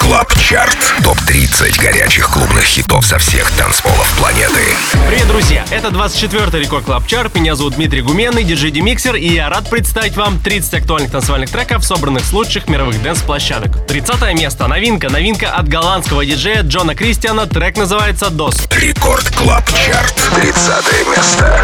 Клаб Чарт. Топ-30 горячих клубных хитов со всех танцполов планеты. Привет, друзья! Это 24-й Рекорд Клаб Чарт. Меня зовут Дмитрий Гуменный, диджей Демиксер, и я рад представить вам 30 актуальных танцевальных треков, собранных с лучших мировых дэнс-площадок. 30 место. Новинка от голландского диджея Джона Кристиана. Трек называется «Дос». Рекорд Клаб Чарт. 30 место.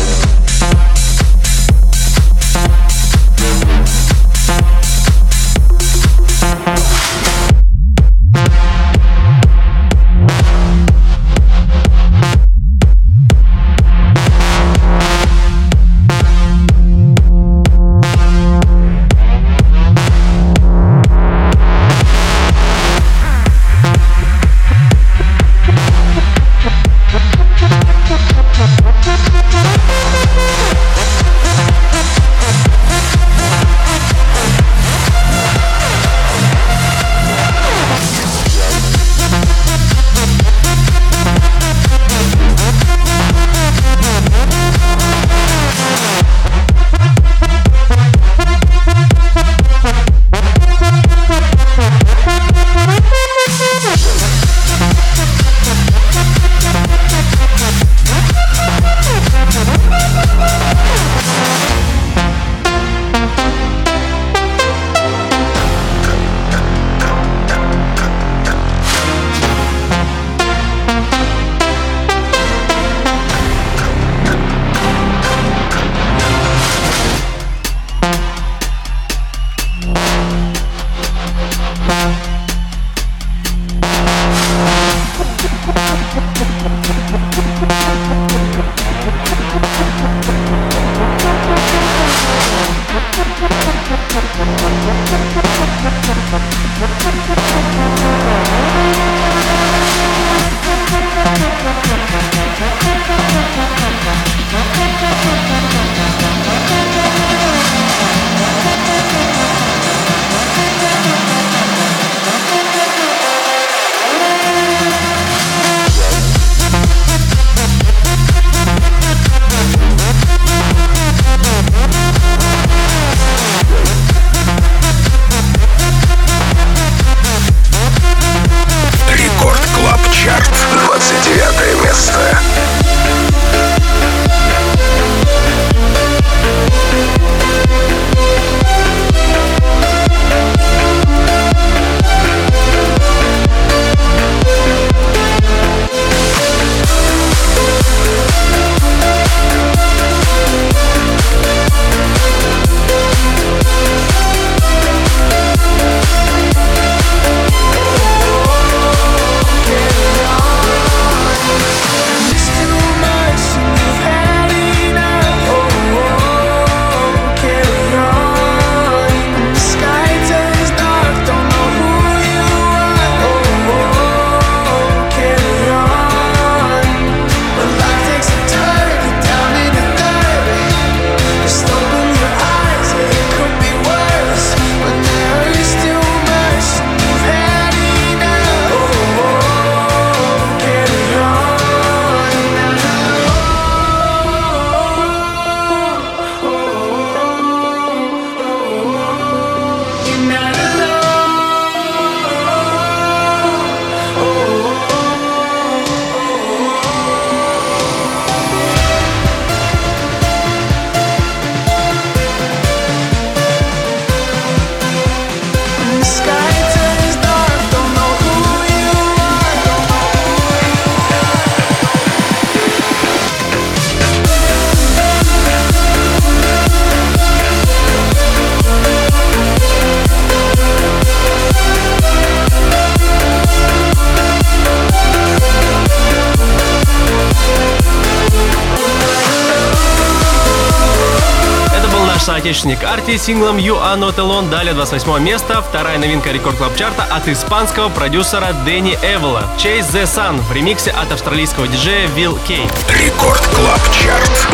Соотечественник Арти с синглом You Are Not Alone. Далее 28 место. Вторая новинка Рекорд Клаб Чарта от испанского продюсера Дэнни Эвола. Chase the Sun в ремиксе от австралийского диджея Will Kay. Рекорд Клаб Чарт.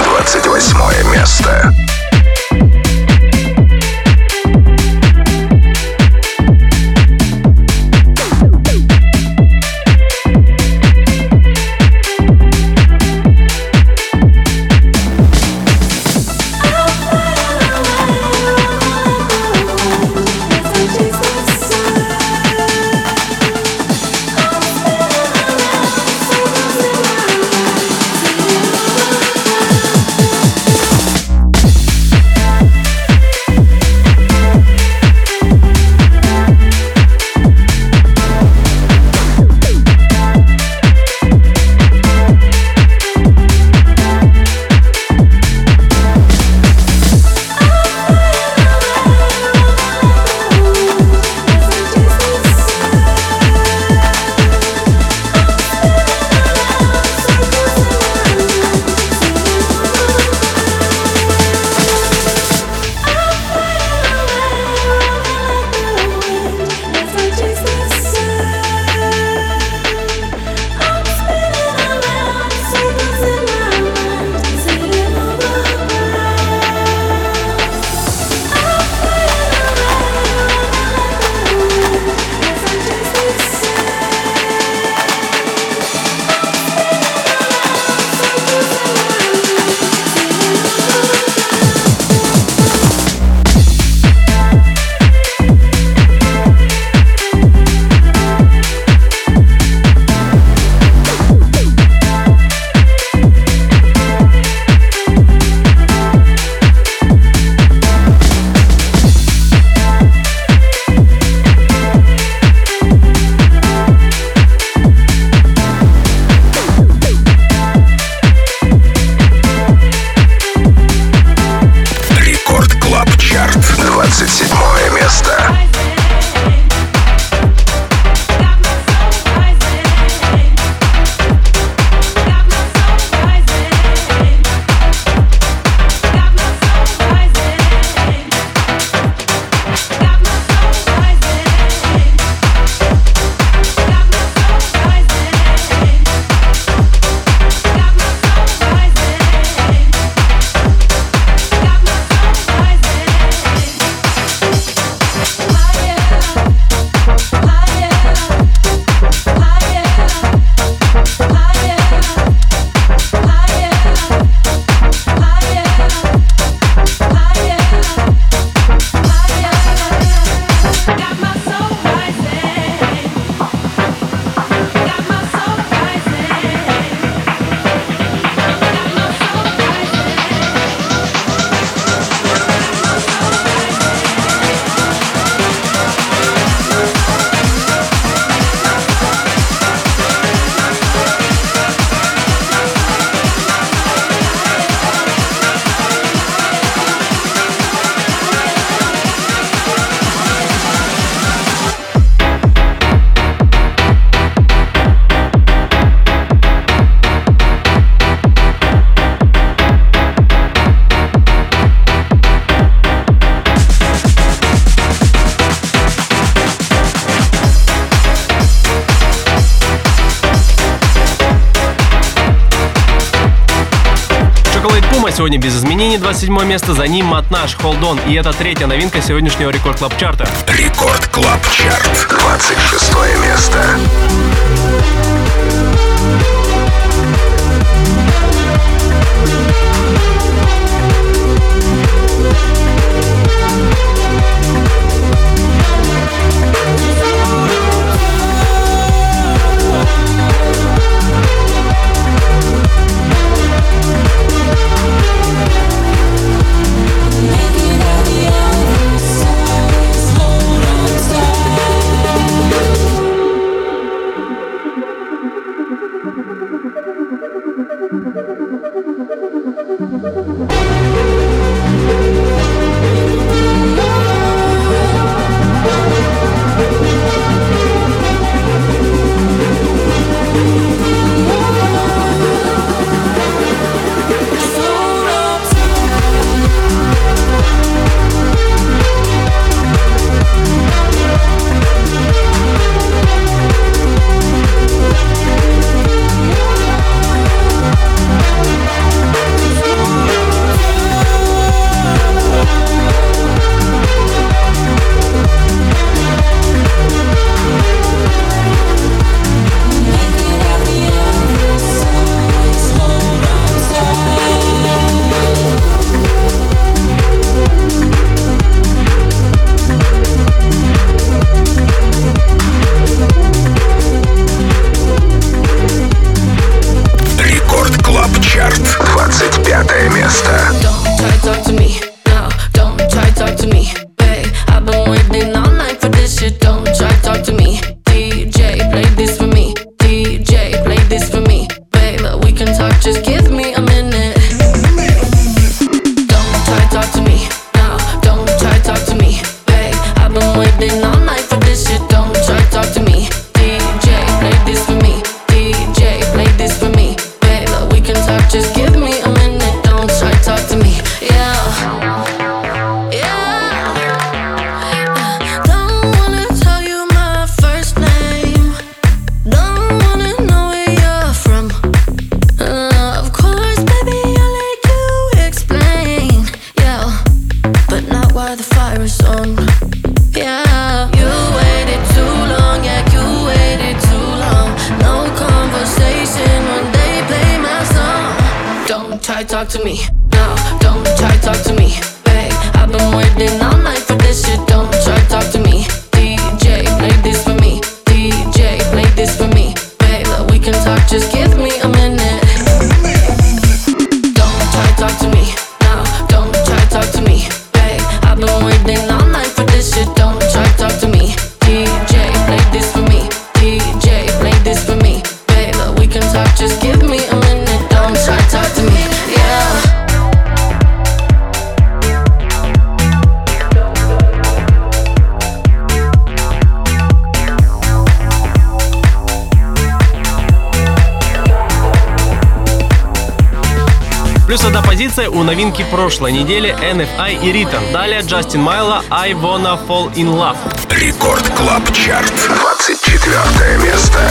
28 место. сегодня без изменений, 27 место, за ним Матнаш, Hold On. И это третья новинка сегодняшнего Рекорд Клаб Чарта. Рекорд Клаб Чарт, 26 место. Плюс одна позиция у новинки прошлой недели NFI и Ритон. Далее Джастин Майло I Wanna Fall In Love. Рекорд Клаб Чарт, 24 место.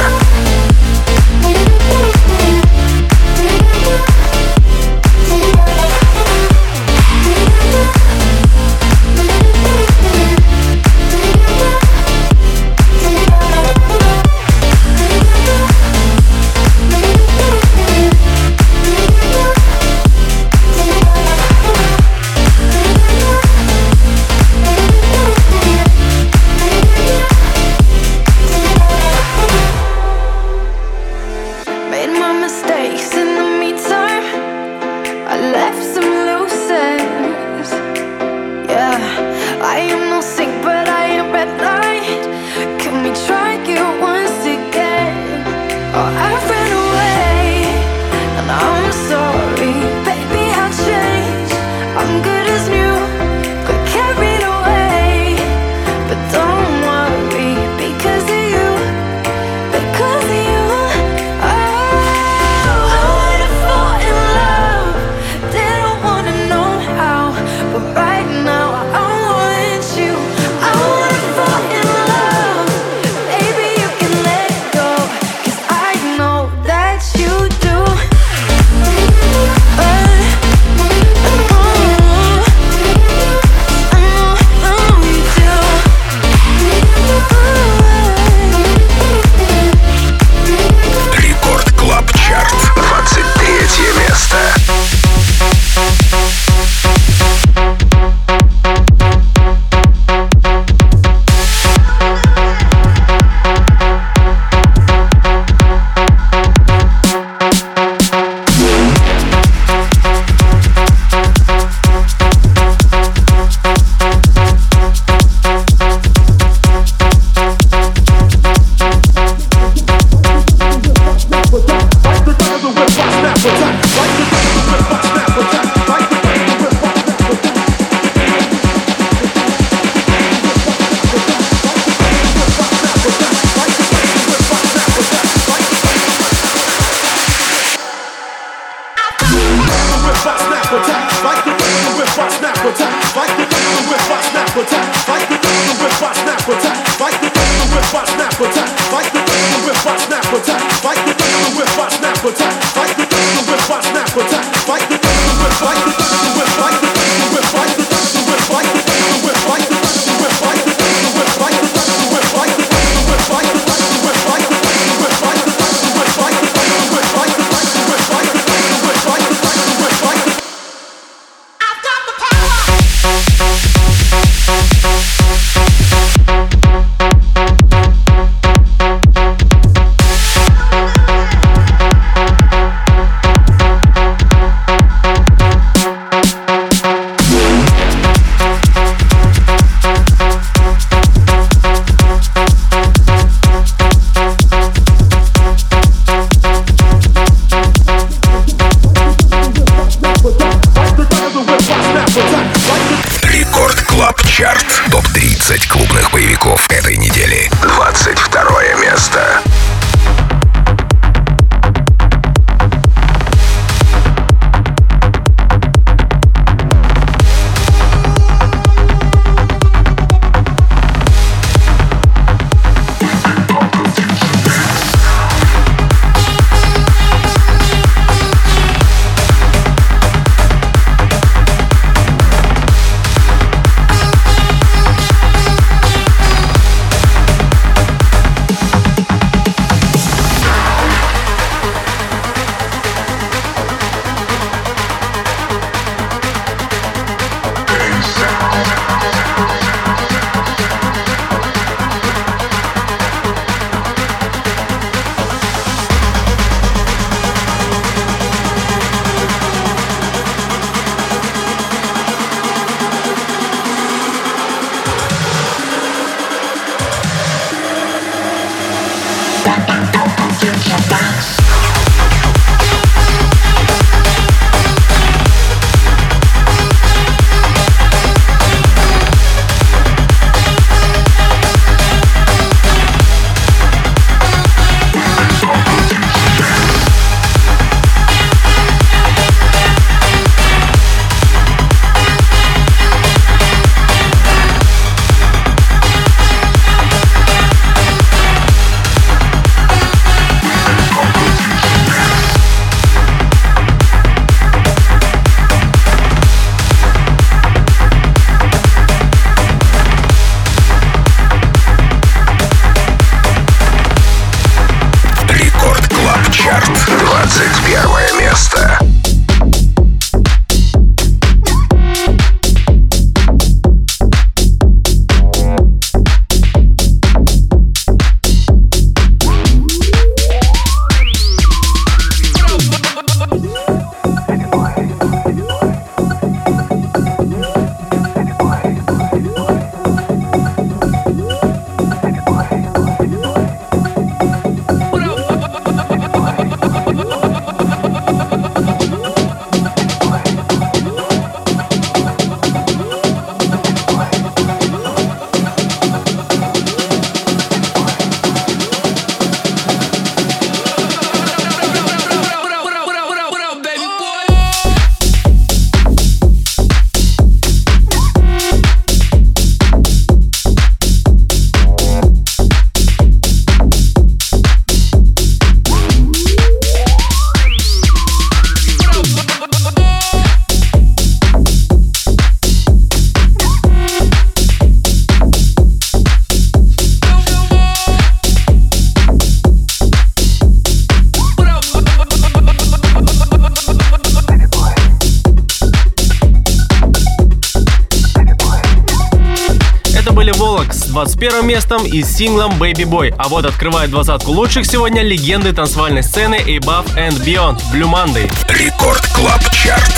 21 местом и синглом Baby Boy. А вот открывает двадцатку лучших сегодня легенды танцевальной сцены Above and Beyond, Blue Monday. Рекорд Клаб Чарт,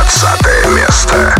20 место.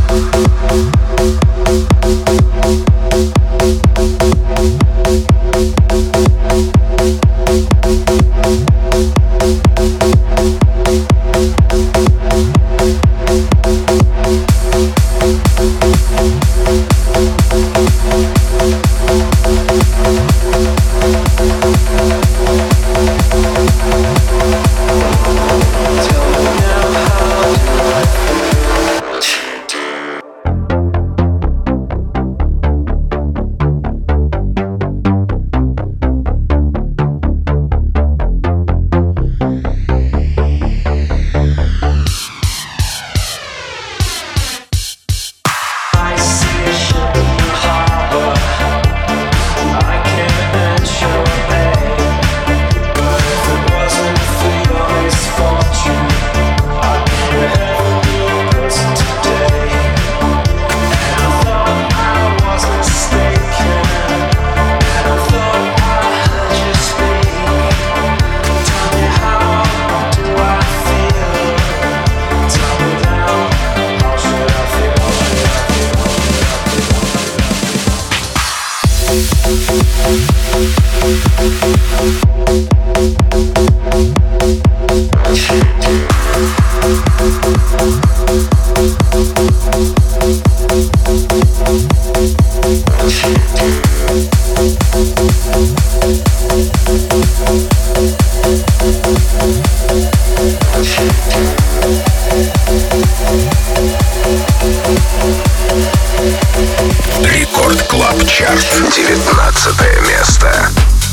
Рекорд Клаб Чарт, 19 место.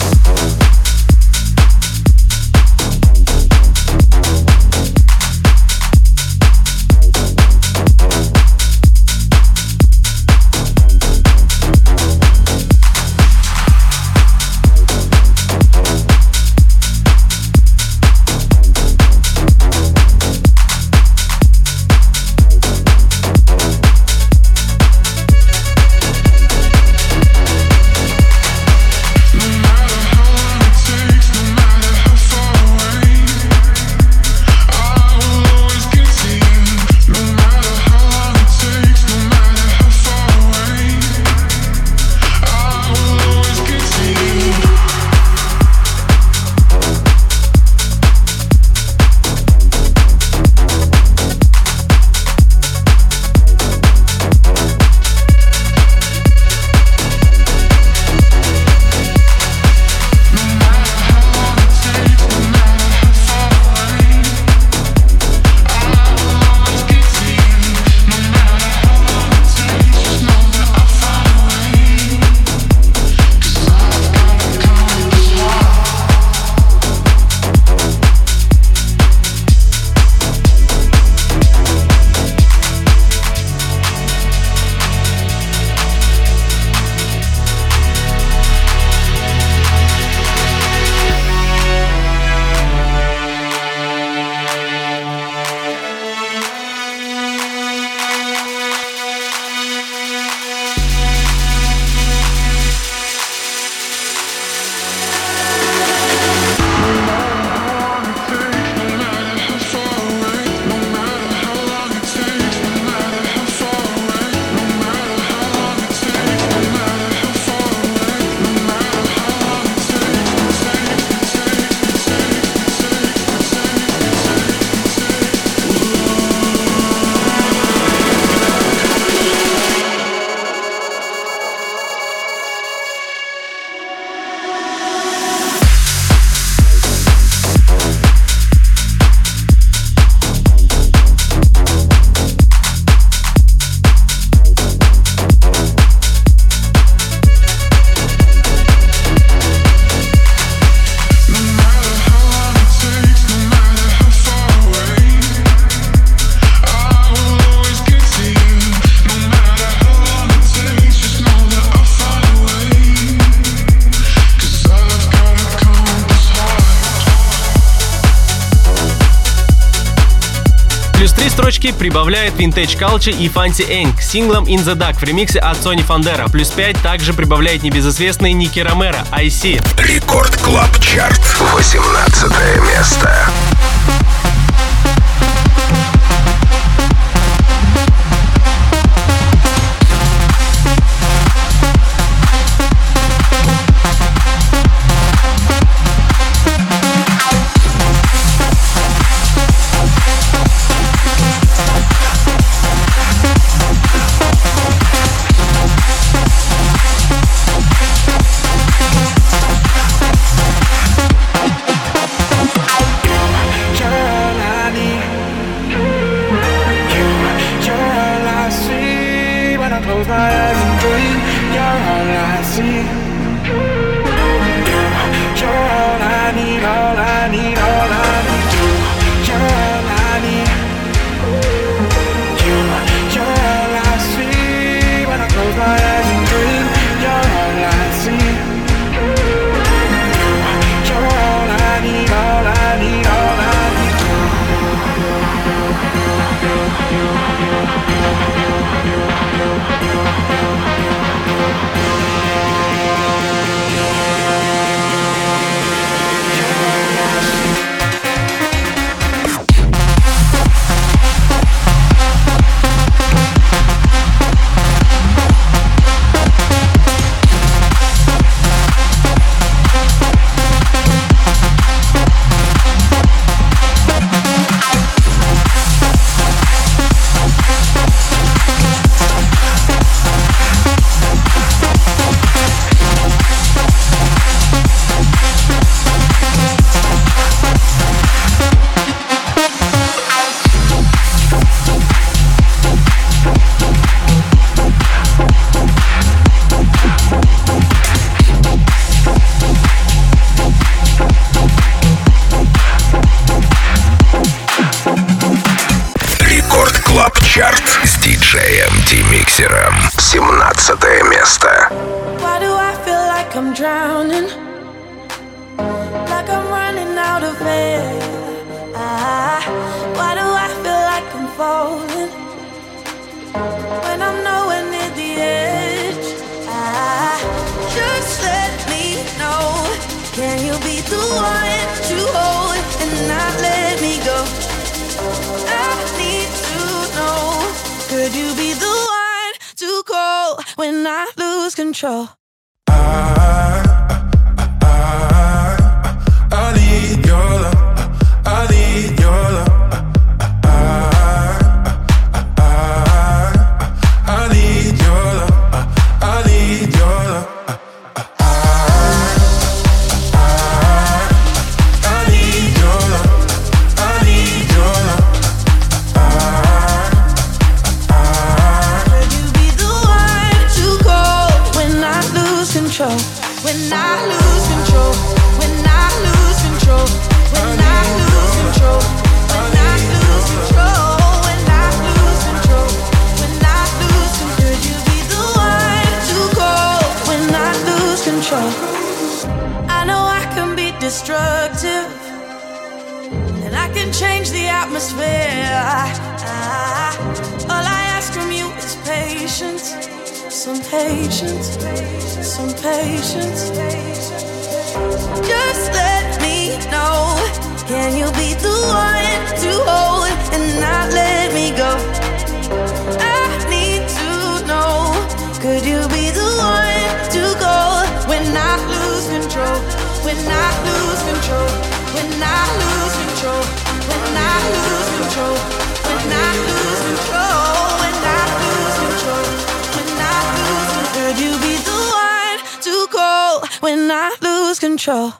Строчки прибавляет Vintage Culture и Fancy Eng с синглом In The Dark в ремиксе от Сони Фандера. Плюс 5 также прибавляет небезызвестный Ники Ромеро IC. Рекорд Клаб Чарт, 18 место. 17 место. Why do I feel like I'm drowning? Like I'm running out of air. Why do I feel like I'm falling when I'm nowhere near the edge? Just let me know. Can you be the one to hold and not let me go? I need to know. Could you be the one to call when I lose control? I need your love. I need your love. I need your love. I need your love. I need your love. I need your love. Could you be the one to call when I lose control? When I lose control. When I lose control. When I lose control. When I lose control. When I lose control. When I lose control. Could you be the one to call when I lose control? I know I can be destructive, and I can change the atmosphere. All I ask from you is patience, some patience, some patience. Just let me know. Can you be the one to hold and not let me go? I need to know. Could you be the one to go when I lose control? When I lose control. When I lose control. When I lose control. When I lose control. When I lose control. When I lose control. Could you be the one to call when I lose control?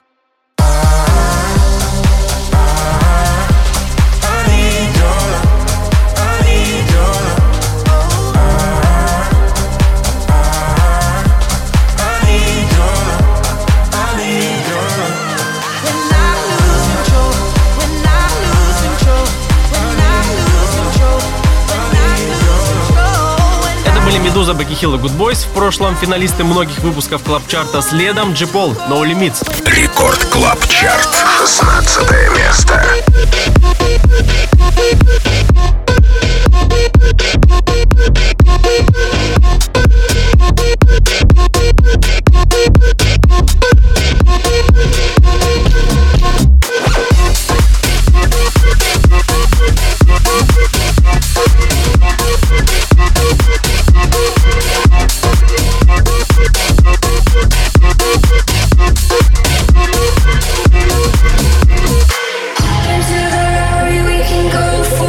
Медуза, Бекки Хилл и Good Boys. В прошлом финалисты многих выпусков клаб-чарта. Следом Джи Пол, No Limits. Рекорд Клаб Чарт, 16 место. Into the Rari, we can go.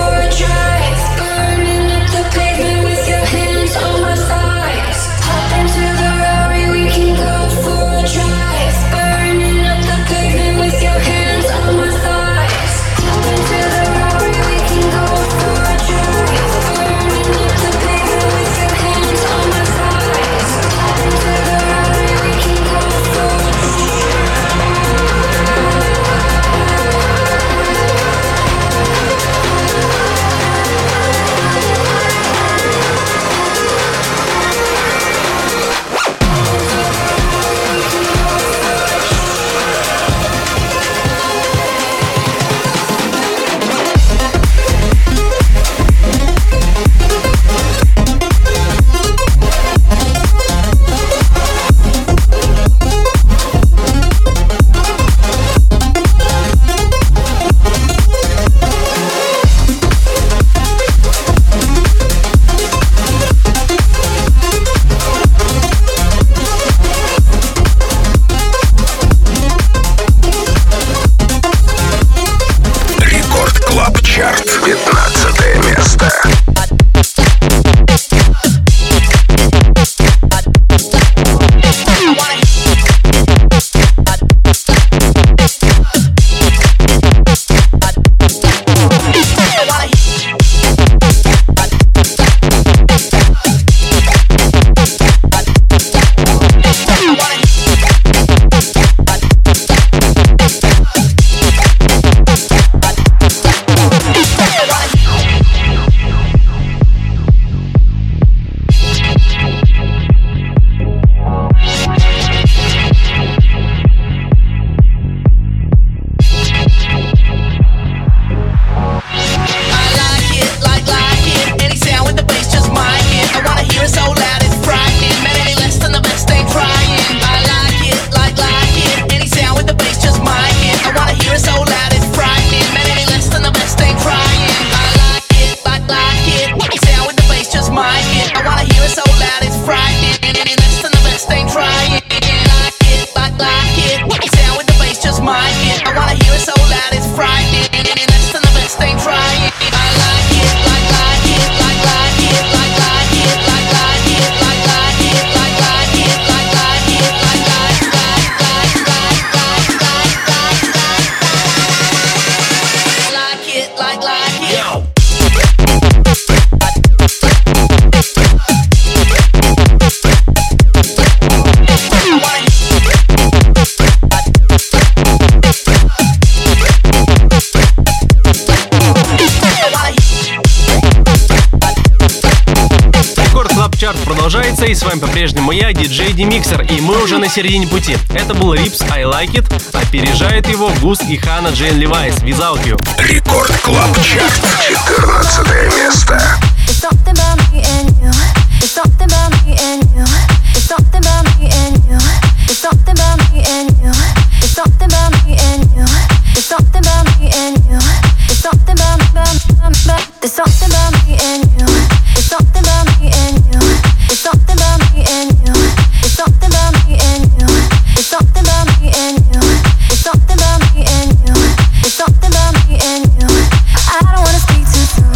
Чарт продолжается, и с вами по-прежнему я, диджей Демиксер, и мы уже на середине пути. Это был Рипс I Like It, опережает его Гус и Хана Джейн Левайс Without You. Рекорд Клаб Чарт, 14 место. There's something about me and you. There's something about me and you. There's something about me and you. There's something about me and you. There's something about me and you. There's something about me and you. There's something about There's something about me and you. There's something about me and you. There's something about me and you. There's something about me and you. There's something about me and you. There's something about me and you. There's something about me and you. I don't wanna speak too soon.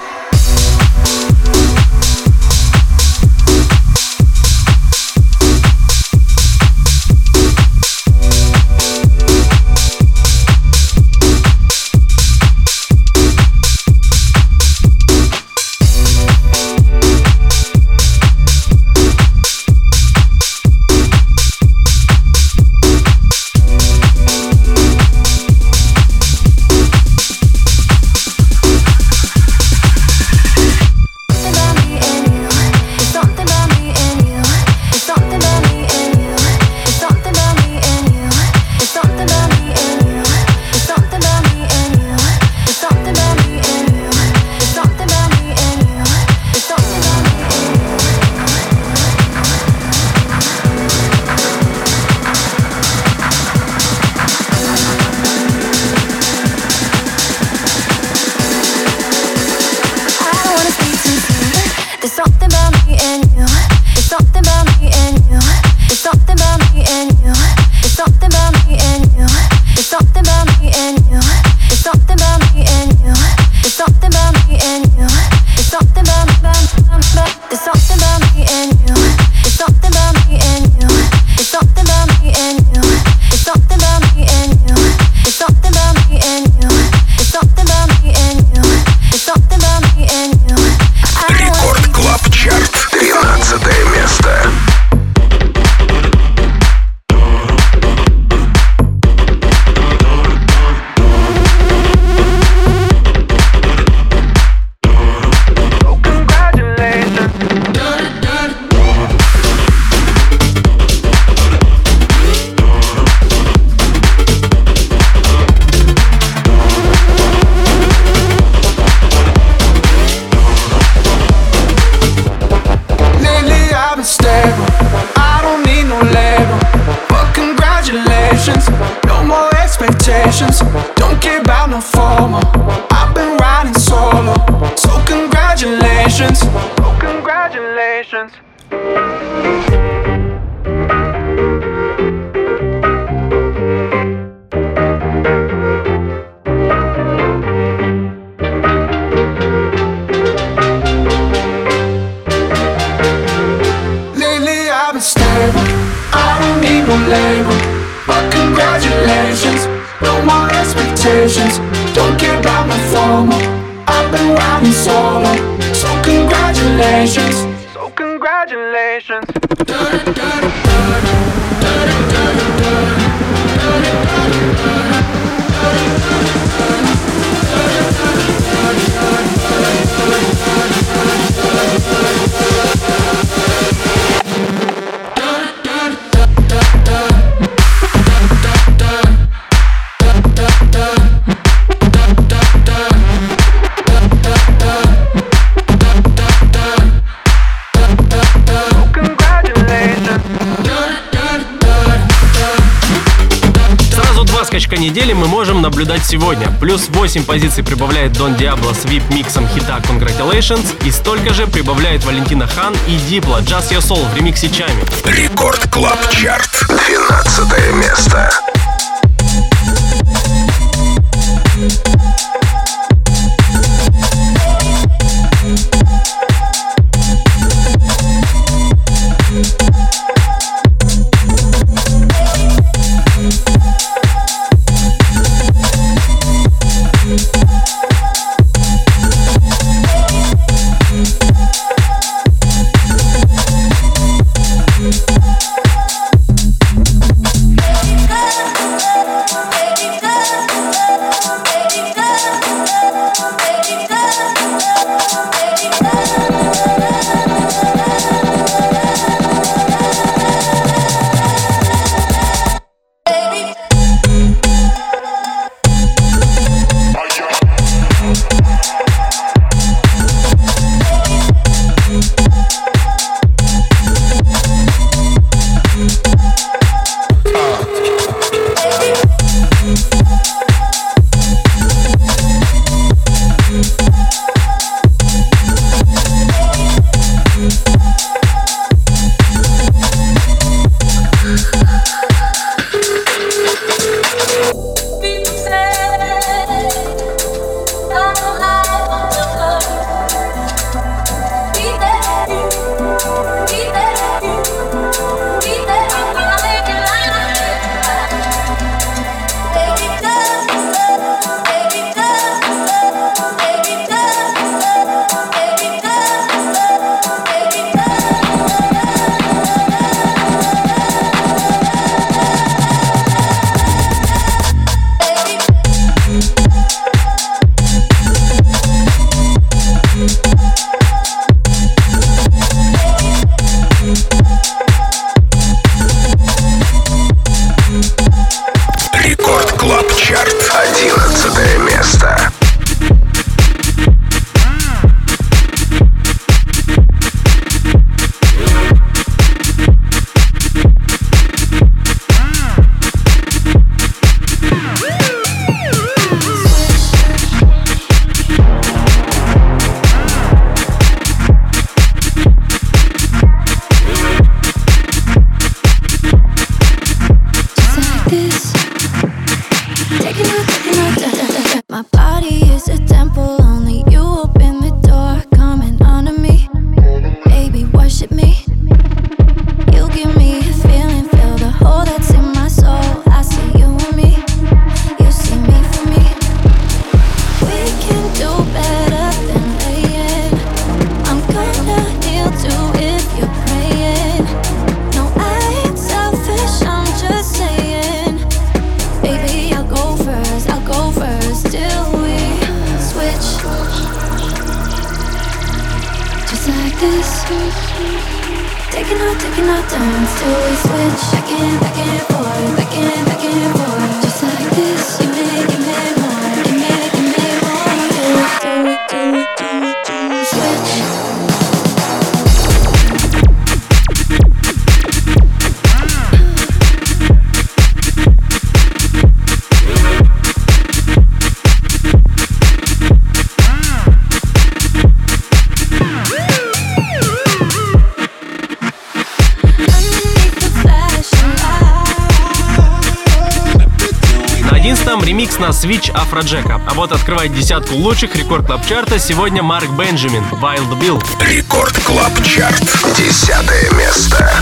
Недели мы можем наблюдать сегодня. Плюс 8 позиций прибавляет Дон Диабло с VIP-миксом хита Congratulations, и столько же прибавляет Валентина Хан и Дипло Just Your Soul в ремиксе Чами. Рекорд Клаб Чарт, 12 место. Go. Клаб Чарт. 11 место. My body is a temple, only you open the door. Coming onto me, baby, worship me. You give me a feeling, feel the hole that's in my soul. I see you and me, you see me for me. We can do better than laying. I'm gonna heal too if you're praying. No, I ain't selfish, I'm just saying. Baby, I'll go first till we switch. Just like this. Taking our turns till we switch. Back and forth, back and forth. Just like this. You make me more, you make me want to switch. Ремикс на Switch Афроджека. А вот открывает десятку лучших рекорд клаб чарта сегодня Марк Бенджамин, Wild Bill. Рекорд Клаб Чарт. 10 место.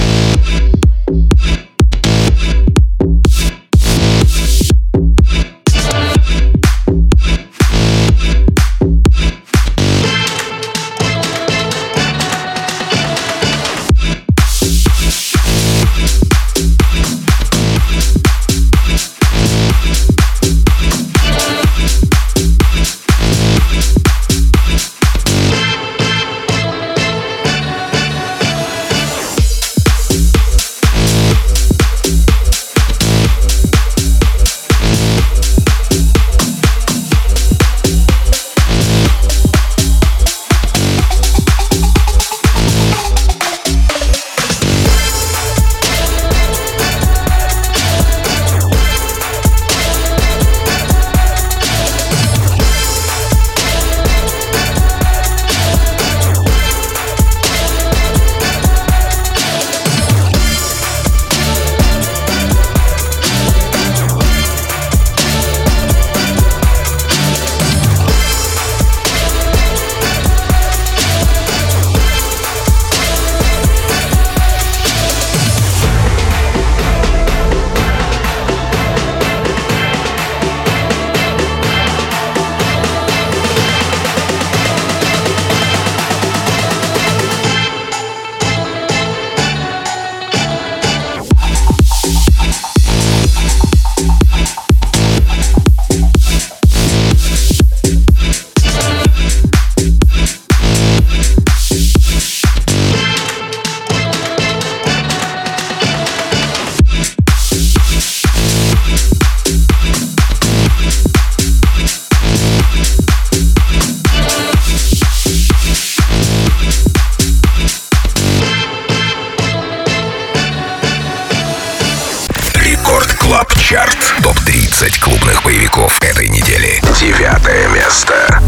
Чарт. Топ-30 клубных боевиков этой недели. 9 место.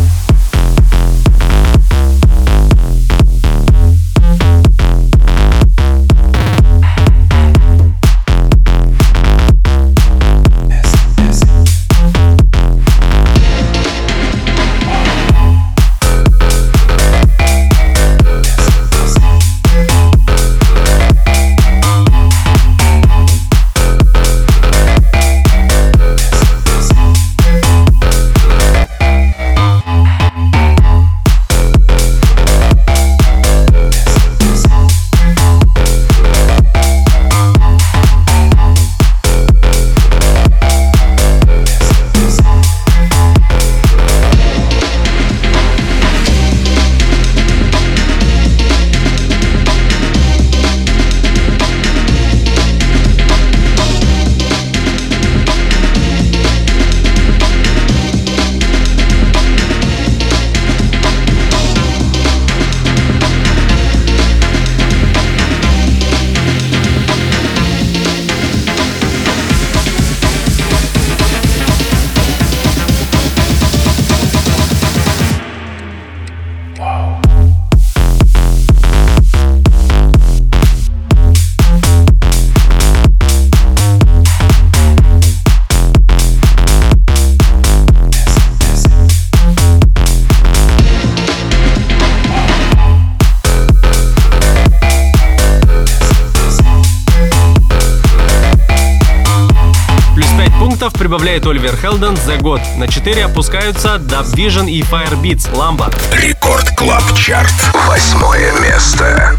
пунктов прибавляет Оливер Хелден «The God». На 4 опускаются Dub Vision и Firebeats «Ламба». Рекорд Клаб Чарт. 8 место.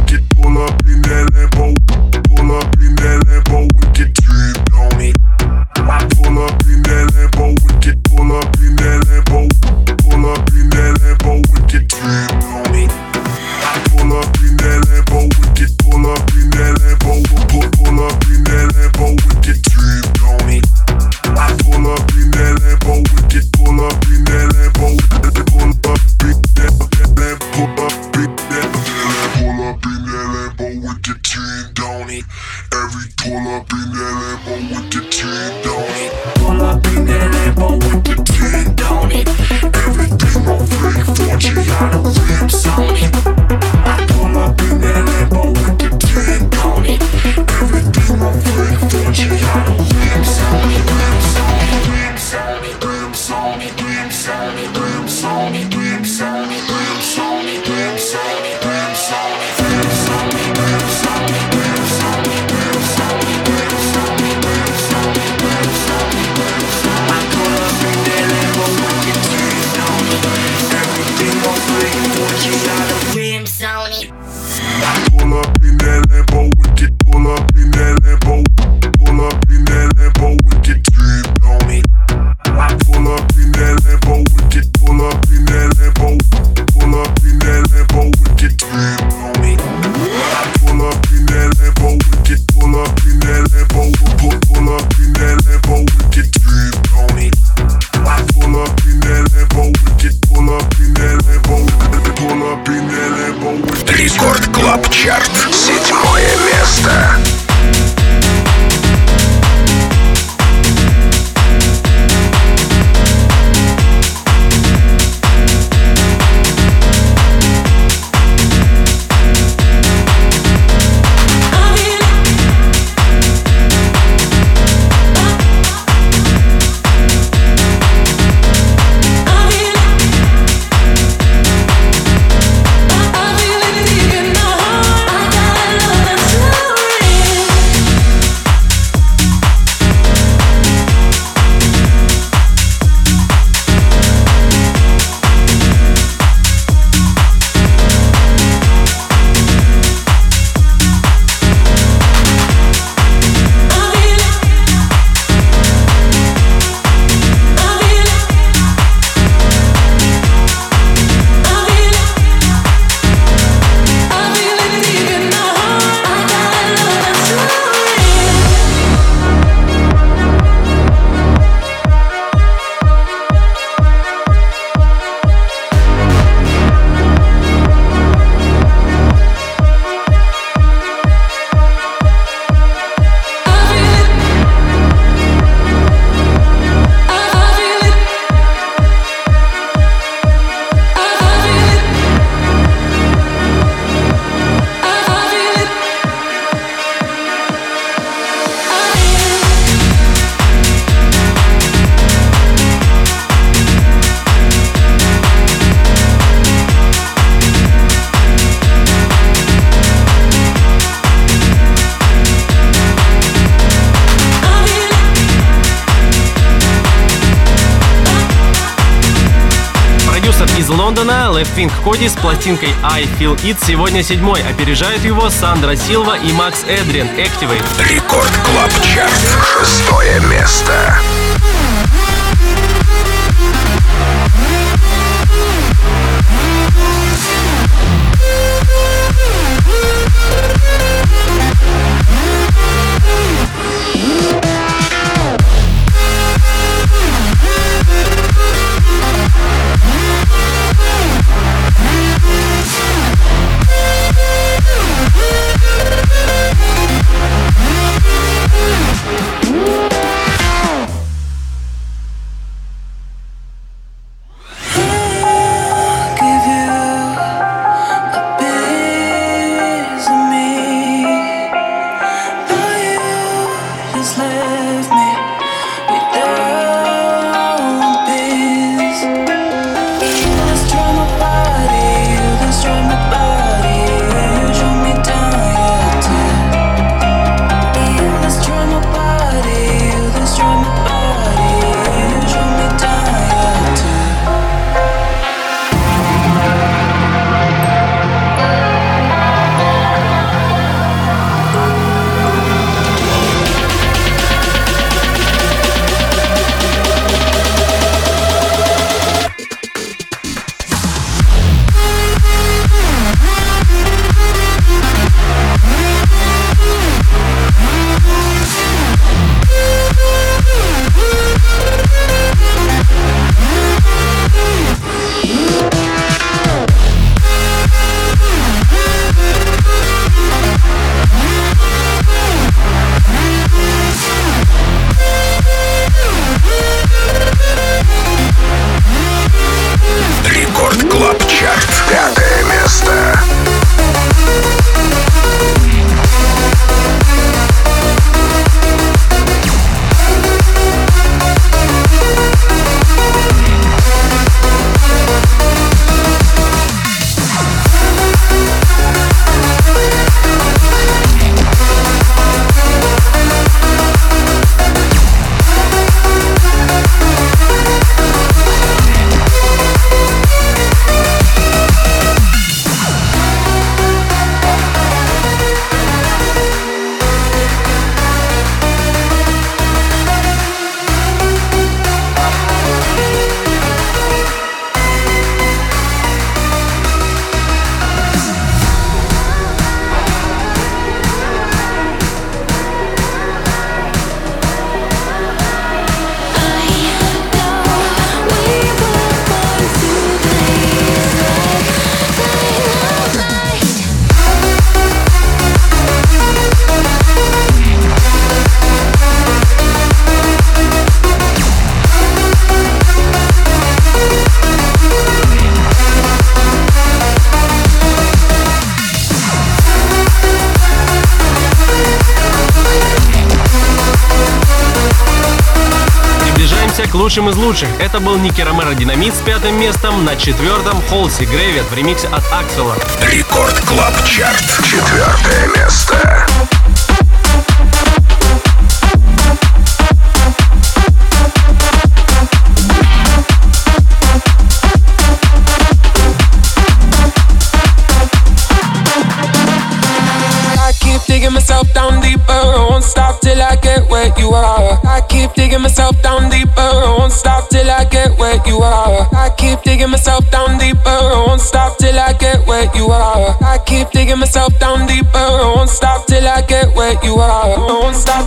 Рекорд Клаб Чарт. 7 место. Из Лондона Left Wing Cody с пластинкой I Feel It сегодня 7-й. Опережают его Сандра Силва и Макс Эдриан Activate. Рекорд Клаб Чарт. 6 место. возвращаемся к лучшим из лучших. Это был Ники Ромеро «Динамит» с 5-м местом. На 4-м Холси Грэвит в ремиксе от Аксела. Рекорд Клаб Чарт. 4-е место. Digging myself down deeper, I won't stop till I get where you are. I keep digging myself down deeper, I won't stop till I get where you are. I keep digging myself down deeper, I won't stop till I get where you are. I keep digging myself down deeper, I won't stop till I get where you are. I won't stop.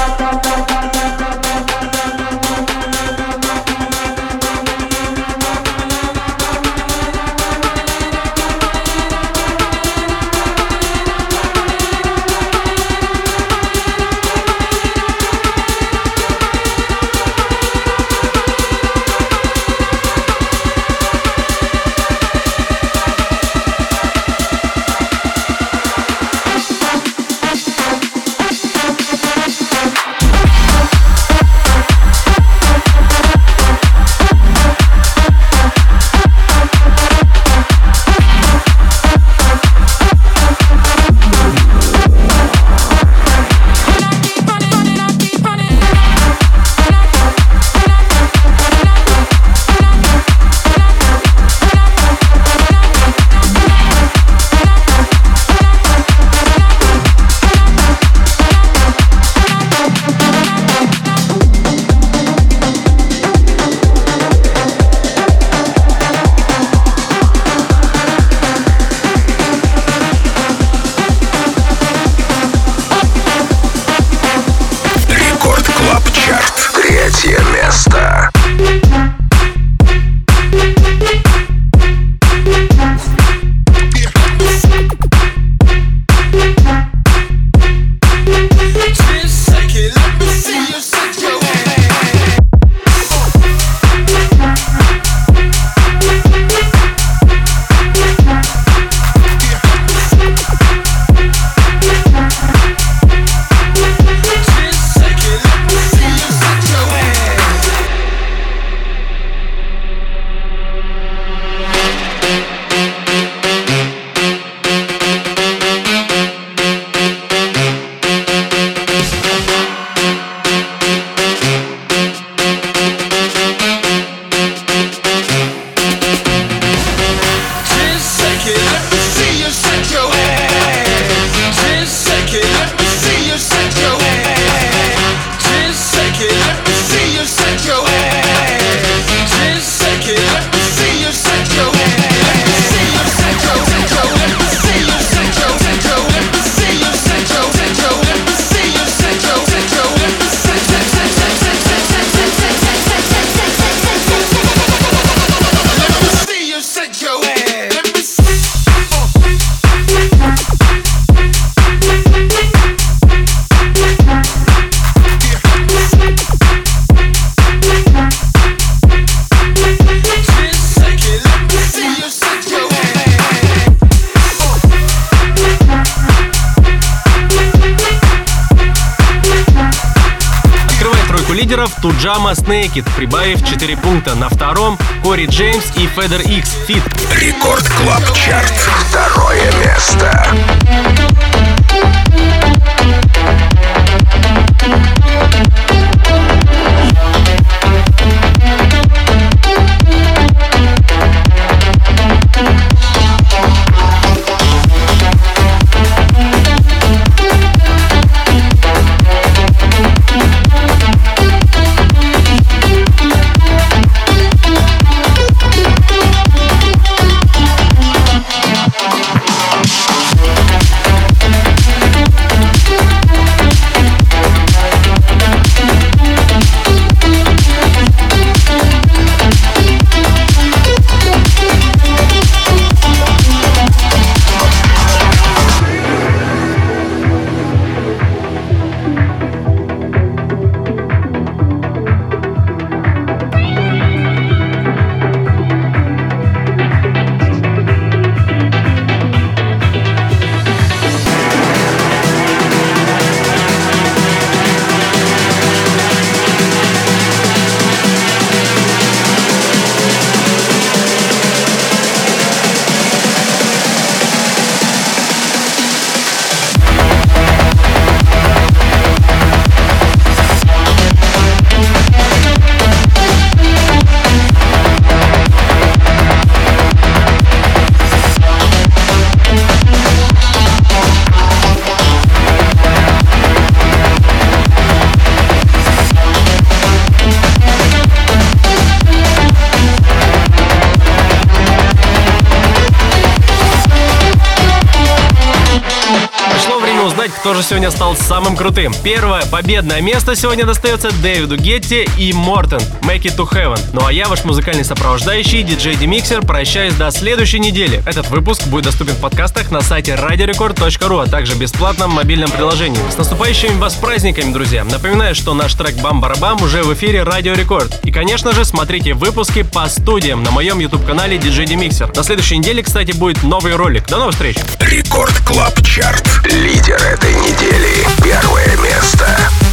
Туджама с Naked, прибавив 4 пункта. На 2-м Кори Джеймс и Федер Икс Фит. Рекорд Клаб Чарт. 2-е место. кто же сегодня стал самым крутым. Первое победное место сегодня достается Дэвиду Гетти и Мортен Make It To Heaven. Ну а я, ваш музыкальный сопровождающий, диджей Демиксер, прощаюсь до следующей недели. Этот выпуск будет доступен в подкастах на сайте radiorecord.ru, а также в бесплатном мобильном приложении. С наступающими вас праздниками, друзья! Напоминаю, что наш трек «Бам-барабам» уже в эфире Радио Рекорд. И, конечно же, смотрите выпуски по студиям на моем YouTube-канале DJ Demixer. На следующей неделе, кстати, будет новый ролик. До новых встреч! Рекорд Клаб Чарт. Лидер этой недели. Первое место.